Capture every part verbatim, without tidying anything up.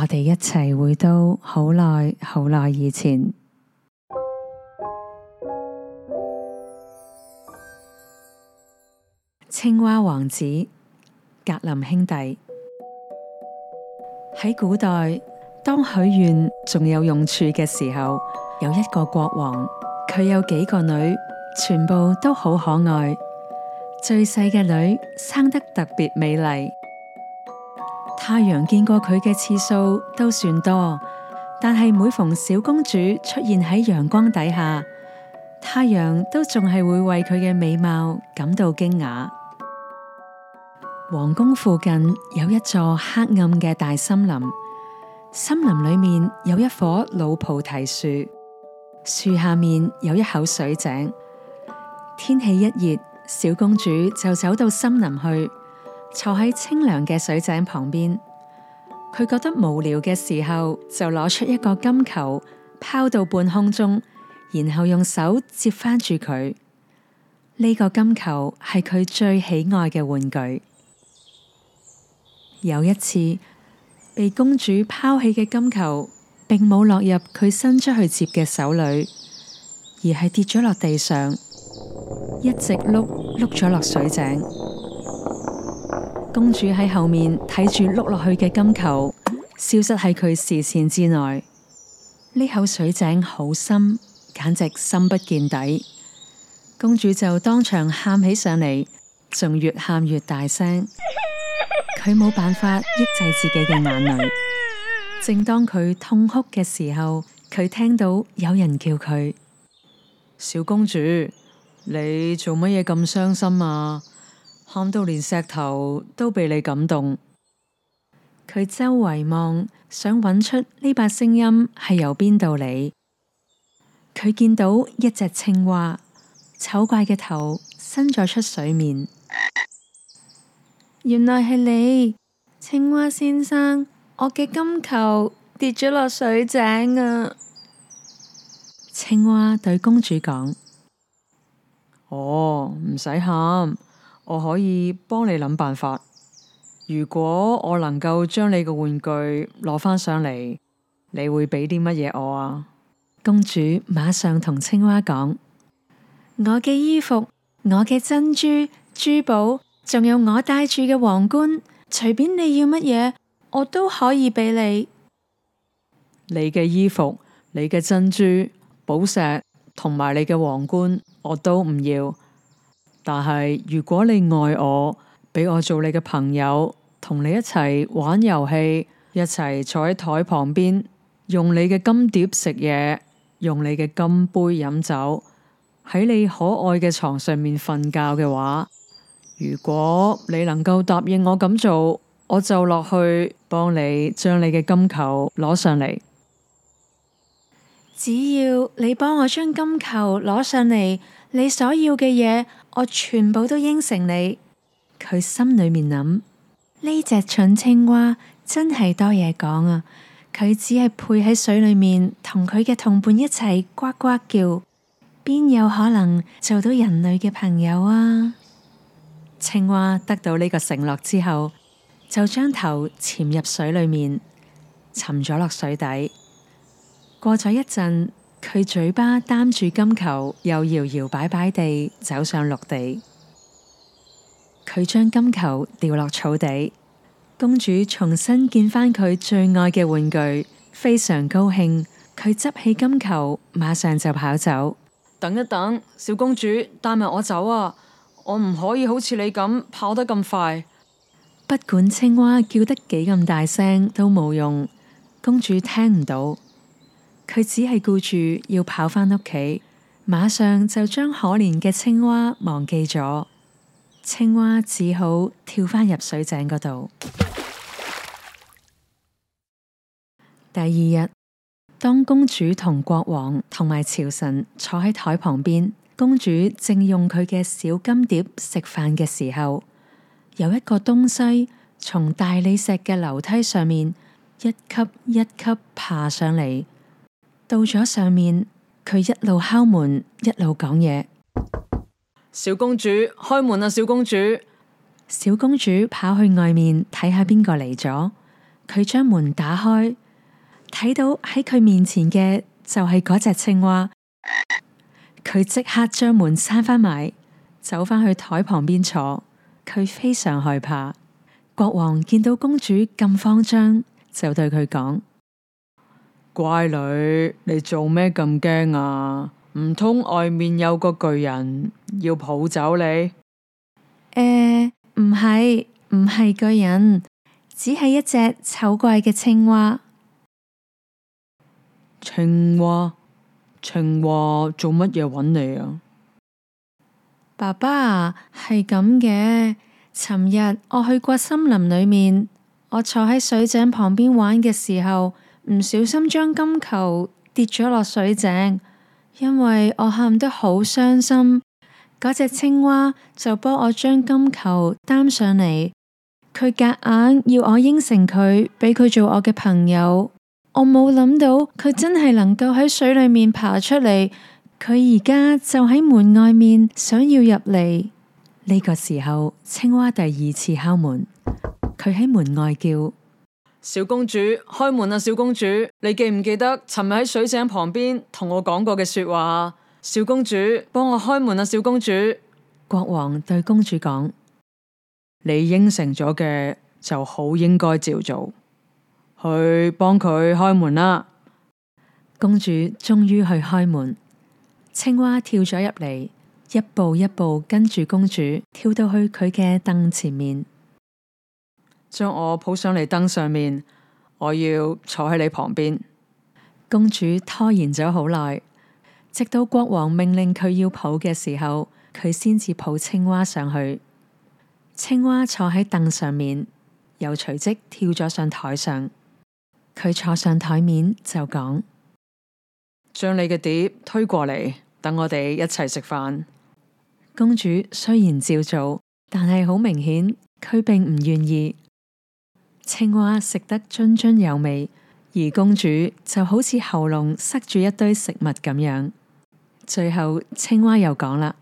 哋一齊回到好耐好耐以前。青蛙王子，格林兄弟。喺古代，當許願仲有用處嘅時候，有一個國王，佢有幾個女，全部都好可愛。最細嘅女生得特別美麗，太陽見過佢嘅次數都算多，但係每逢小公主出現喺陽光底下，太陽都仲係會為佢嘅美貌感到驚訝。皇宮附近有一座黑暗嘅大森林，森林裏面有一棵老菩提樹，樹下面有一口水井。天氣一熱，小公主就走到森林去，坐喺清涼嘅水井旁邊。佢覺得無聊嘅時候，就攞出一個金球，拋到半空中，然後用手接翻住佢。呢個金球係佢最喜愛嘅玩具。有一次，被公主拋棄嘅金球，並冇落入佢伸出去接嘅手裏，而係跌咗落地上，一直碌碌咗落水井。公主喺後面睇住碌落去嘅金球，消失喺佢視線之內。呢口水井好深，簡直深不見底。公主就當場喊起上嚟，仲越喊越大聲。佢冇辦法抑制自己嘅眼淚。正當佢痛哭嘅時候，佢聽到有人叫佢：小公主，你做乜嘢咁傷心啊？喊到連石頭都被你感動。佢周圍望，想揾出呢把聲音係由邊度嚟。佢見到一隻青蛙，醜怪嘅頭伸咗出水面。原來係你，青蛙先生，我嘅金球跌咗落水井啊！青蛙對公主講：哦，唔使喊，我可以幫你諗辦法。如果我能夠將你嘅玩具攞返上嚟，你會俾啲乜嘢我啊？公主馬上同青蛙講：我嘅衣服，我嘅珍珠、珠寶，仲有我戴住嘅皇冠，隨便你要乜嘢，我都可以俾你。你嘅衣服、你嘅珍珠、寶石同埋你嘅皇冠，我都唔要。但係如果你愛我，俾我做你嘅朋友，同你一齊玩遊戲，一齊坐喺台旁邊，用你嘅金碟食嘢，用你嘅金杯飲酒，喺你可愛嘅床上面瞓覺嘅話，如果你能夠答應我咁做，我就落去幫你將你嘅金球攞上嚟。只要你幫我將金球攞上嚟，你所要嘅嘢，我全部都應承你。佢心裏面諗：呢隻蠢青蛙真係多嘢講啊！佢只係配喺水裏面，同佢嘅同伴一齊呱呱叫，邊有可能做到人類嘅朋友啊？青蛙得到呢個承諾之後，就將頭潛入水裏面，沉咗落水底。過咗一陣，佢嘴巴擔住金球，又搖搖擺擺地走上陸地。佢將金球掉落草地，公主重新見返佢最愛嘅玩具，非常高興。佢執起金球，馬上就跑走。等一等，小公主，帶埋我走啊！我唔可以好似你咁跑得咁快。不管青蛙叫得幾咁大聲都冇用，公主聽唔到。佢只係顧住要跑返屋企，馬上就將可憐嘅青蛙忘記咗。青蛙只好跳返入水井嗰度。第二日，當公主同國王同埋朝臣坐喺台旁邊，公主正用佢嘅小金碟食飯嘅時候，有一個東西從大理石嘅樓梯上面一級一級爬上嚟，到咗上面，佢一路敲門，一路講嘢。小公主，開門啊！小公主，小公主跑去外面睇下邊個嚟咗。 佢將門打開，睇到喺佢面前嘅就係嗰隻青蛙。佢即刻將門閂返埋，走返去台旁邊坐。佢非常害怕。國王見到公主咁慌張，就對佢講：乖女，你做咩咁驚啊？唔通外面有個巨人要抱走你？誒、 呃，唔係，唔係巨人，只係一隻醜怪嘅青蛙。 青蛙？青蛙做乜嘢揾你啊？ 爸爸，係咁嘅。尋日我去過森林裏面，我坐喺水井旁邊玩嘅時候，唔小心將金球跌咗落水井，因為我喊得好傷心，嗰隻青蛙就幫我將金球擔上嚟，佢夾硬要我應承佢，俾佢做我嘅朋友。我冇諗到佢真係能夠喺水裏面爬出嚟，佢而家就喺門外面想要入嚟。呢個時候，青蛙第二次敲門，佢喺門外叫： 小公主，開門啊！小公主，你記唔記得尋日喺水井旁邊同我講過嘅說話？小公主，幫我開門啊！小公主。 國王對公主講： 你應承咗嘅就好應該照做，去幫佢開門啦。 公主終於去開門，青蛙跳咗入嚟，一步一步跟住公主跳到去佢嘅凳前面， 將我抱上嚟凳上面，我要坐喺你旁邊。 公主拖延咗好耐，直到國王命令佢要抱嘅時候，佢先至抱青蛙上去。青蛙坐喺凳上面，又隨即跳咗上台上。佢坐上台面就講： 將你嘅碟推過嚟，等我哋一齊食飯。 公主雖然照做，但係好明顯佢並唔願意。青蛙食得津津有味，而公主就好似喉嚨塞住一堆食物咁樣。最後青蛙又講啦：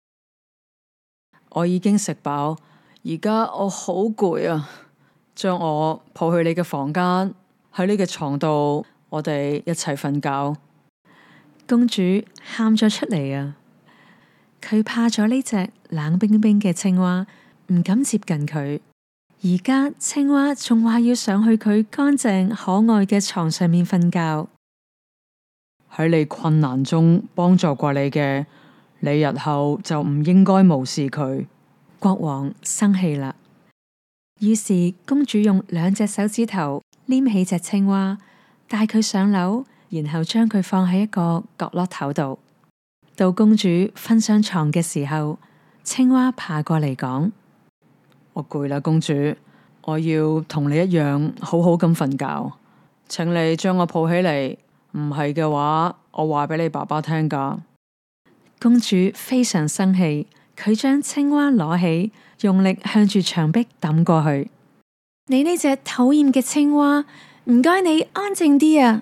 我已經食飽，而家我好攰啊，將我抱去你嘅房間，喺你嘅床度，我哋一齊瞓覺。 公主喊咗出嚟啊！佢怕咗呢隻冷冰冰嘅青蛙，唔敢接近佢。而家青蛙仲話要上去佢乾淨可愛嘅床上面瞓覺。 喺你困難中幫助過你嘅，你日後就唔應該無視佢。 國王生氣啦，於是公主用兩隻手指頭黏起隻青蛙，帶佢上樓，然後將佢放喺一個角落頭度。到公主瞓上床嘅時候，青蛙爬過嚟講： 我攰啦，公主，我要同你一樣好好咁瞓覺，請你將我抱起嚟，唔係嘅話，我話俾你爸爸聽㗎。 公主非常生氣，佢將青蛙攞起，用力向住牆壁抌過去。你呢隻討厭嘅青蛙，唔該你安靜啲啊！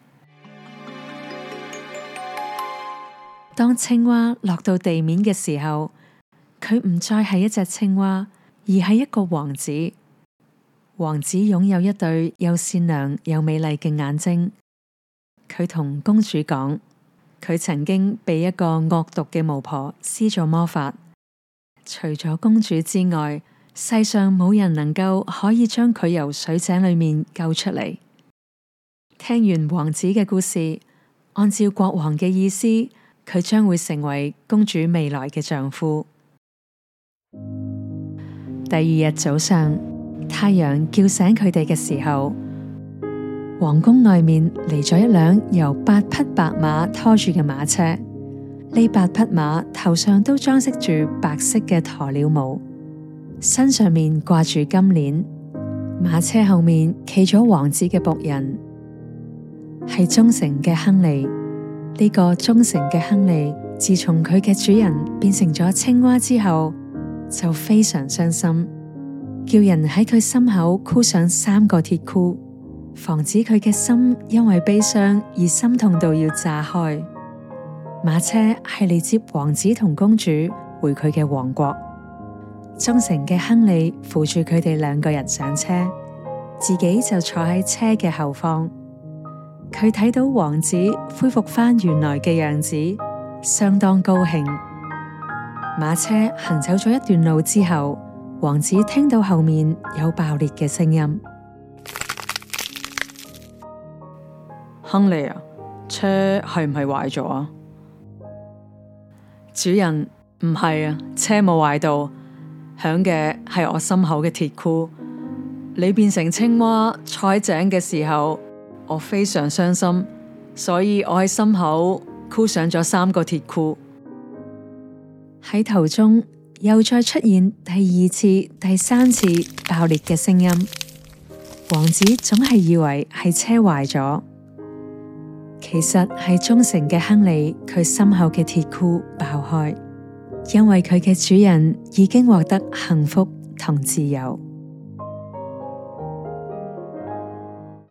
當青蛙落到地面嘅時候，佢唔再係一隻青蛙，而係一個王子。王子擁有一對又善良又美麗嘅眼睛。佢同公主講，佢曾經被一個惡毒嘅巫婆施咗魔法。除咗公主之外，世上冇人能夠可以將佢由水井裏面救出嚟。聽完王子嘅故事，按照國王嘅意思，佢將會成為公主未來嘅丈夫。第二日早上，太陽叫醒佢哋嘅時候，皇宮外面嚟咗一輛由八匹白馬拖住嘅馬車。呢八匹馬頭上都裝飾住白色嘅鴕鳥毛，身上面掛住金鏈。馬車後面企咗王子嘅僕人，係忠誠嘅亨利。呢個忠誠嘅亨利，自從佢嘅主人變成咗青蛙之後，就非常傷心，叫人喺佢心口箍上三個鐵箍，防止佢嘅心因為悲傷而心痛到要炸開。馬車係嚟接王子同公主回佢嘅王國。忠誠嘅亨利扶住佢哋兩個人上車， 自己就坐喺車嘅後方。佢睇到王子恢復返原來嘅樣子，相當高興。馬車行走咗一段路之後，王子聽到後面有爆裂嘅聲音。 亨利啊，車係唔係壞咗啊？主人，唔係啊，車冇壞到，響嘅係我心口嘅鐵箍。你變成青蛙坐喺井嘅時候，我非常傷心，所以我喺心口箍上咗三個鐵箍。 喺途中又再出現第二次、第三次爆裂嘅聲音。王子總係以為係車壞咗，其實係忠誠嘅亨利佢心口嘅鐵箍爆開，因為佢嘅主人已經獲得幸福同自由。